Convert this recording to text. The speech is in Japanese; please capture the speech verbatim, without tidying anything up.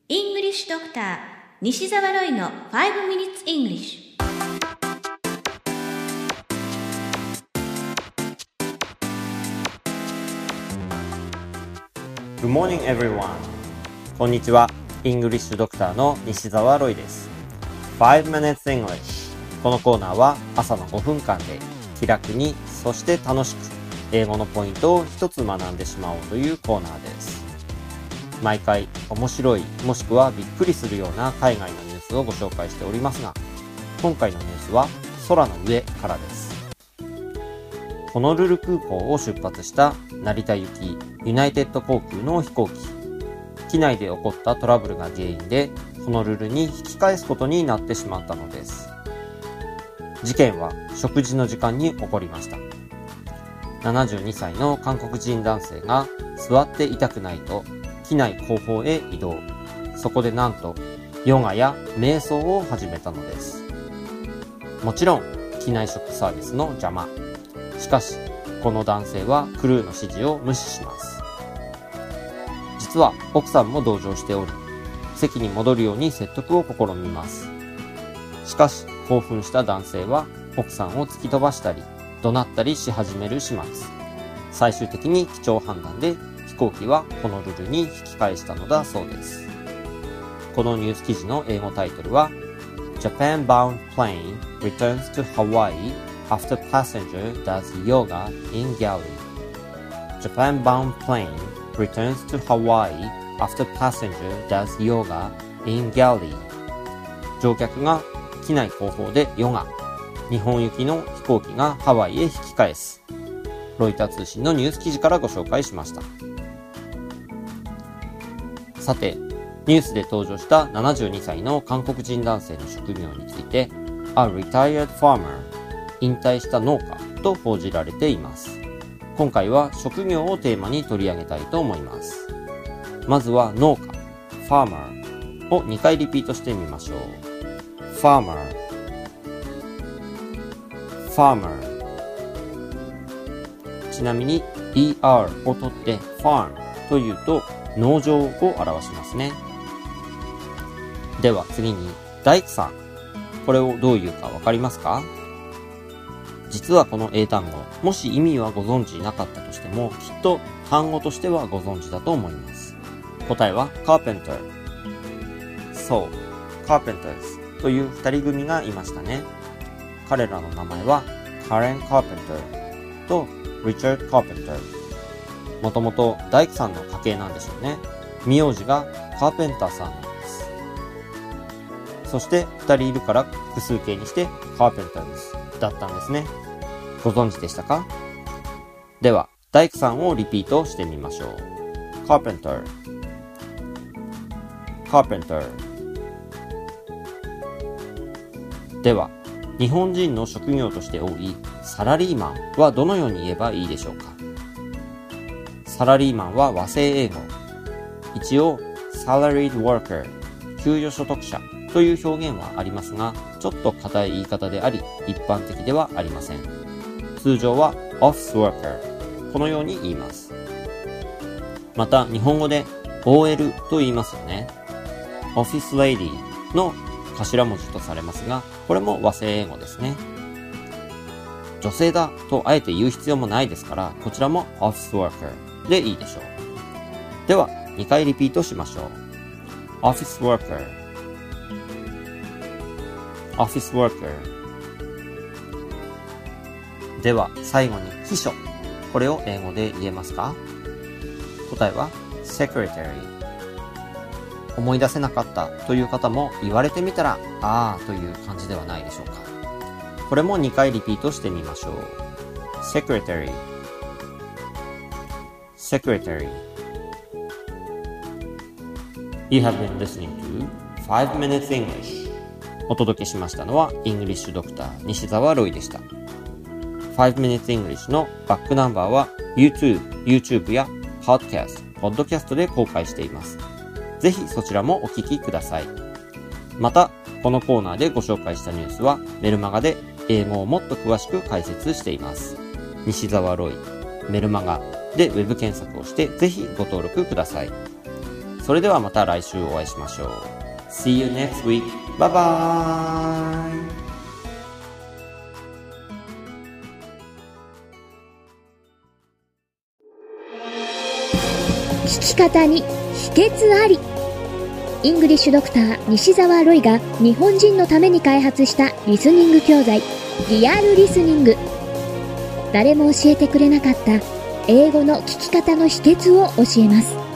English Doctor 西澤ロイのファイブ Minutes English。 Good morning, everyone. こんにちは。イングリッシュドクターの西澤ロイです。ファイブ Minutes English。このコーナーは朝のごふんかんで気楽に、そして楽しく英語のポイントを一つ学んでしまおうというコーナーです。毎回面白い、もしくはびっくりするような海外のニュースをご紹介しておりますが、今回のニュースは空の上からです。ホノルル空港を出発した成田行きユナイテッド航空の飛行機。機内で起こったトラブルが原因でホノルルに引き返すことになってしまったのです。事件は食事の時間に起こりました。ななじゅうにさいの韓国人男性が座っていたくないと機内後方へ移動。そこでなんとヨガや瞑想を始めたのです。もちろん機内食サービスの邪魔。しかしこの男性はクルーの指示を無視します。実は奥さんも同乗しており、席に戻るように説得を試みます。しかし興奮した男性は奥さんを突き飛ばしたり怒鳴ったりし始める始末。最終的に機長判断で飛行機はホノルルに引き返したのだそうです。このニュース記事の英語タイトルは Japan bound plane returns to Hawaii after passenger does yoga in galley. Japan bound plane returns to Hawaii after passenger does yoga in galley. 乗客が機内後方でヨガ。日本行きの飛行機がハワイへ引き返す。ロイター通信のニュース記事からご紹介しました。さて、ニュースで登場したななじゅうにさいの韓国人男性の職業について A retired farmer 引退した農家と報じられています。今回は職業をテーマに取り上げたいと思います。まずは農家 farmer をにかいリピートしてみましょう。 farmer farmer ちなみに イーアール を取って farm というと農場を表しますね。では次に大工さん。これをどういうかわかりますか？実はこの英単語、もし意味はご存知なかったとしても、きっと単語としてはご存知だと思います。答えは carpenter。そう、carpenters という二人組がいましたね。彼らの名前はカレン・カーペンターとリチャード・カーペンター。もともと大工さんの家系なんでしょうね。名字がカーペンターさんなんです。そして二人いるから複数形にしてカーペンターズだったんですね。ご存知でしたか？では大工さんをリピートしてみましょう。カーペンター、カーペンター。では日本人の職業として多いサラリーマンはどのように言えばいいでしょうか？サラリーマンは和製英語。一応 salaried worker 給与所得者という表現はありますが、ちょっと硬い言い方であり一般的ではありません。通常は office worker このように言います。また日本語で オーエル と言いますよね。 office lady の頭文字とされますが、これも和製英語ですね。女性だとあえて言う必要もないですから、こちらも office worker でいいでしょう。ではにかいリピートしましょう。 office worker office worker。 では最後に秘書。これを英語で言えますか？答えは secretary。思い出せなかったという方も言われてみたらあーという感じではないでしょうか。これもにかいリピートしてみましょう。 secretary secretary。 You have been listening to ファイブ Minutes English。 お届けしましたのはイングリッシュドクター西澤ロイでした。ファイブ Minutes English のバックナンバーは YouTube、YouTube や Podcast、Podcast で公開しています。ぜひそちらもお聞きください。また、このコーナーでご紹介したニュースはメルマガで英語をもっと詳しく解説しています。西澤ロイ、メルマガでウェブ検索をしてぜひご登録ください。 それではまた来週お会いしましょう。See you next week. Bye bye. 聞き方に秘訣あり。イングリッシュドクター西澤ロイが日本人のために開発したリスニング教材リアルリスニング。誰も教えてくれなかった英語の聞き方の秘訣を教えます。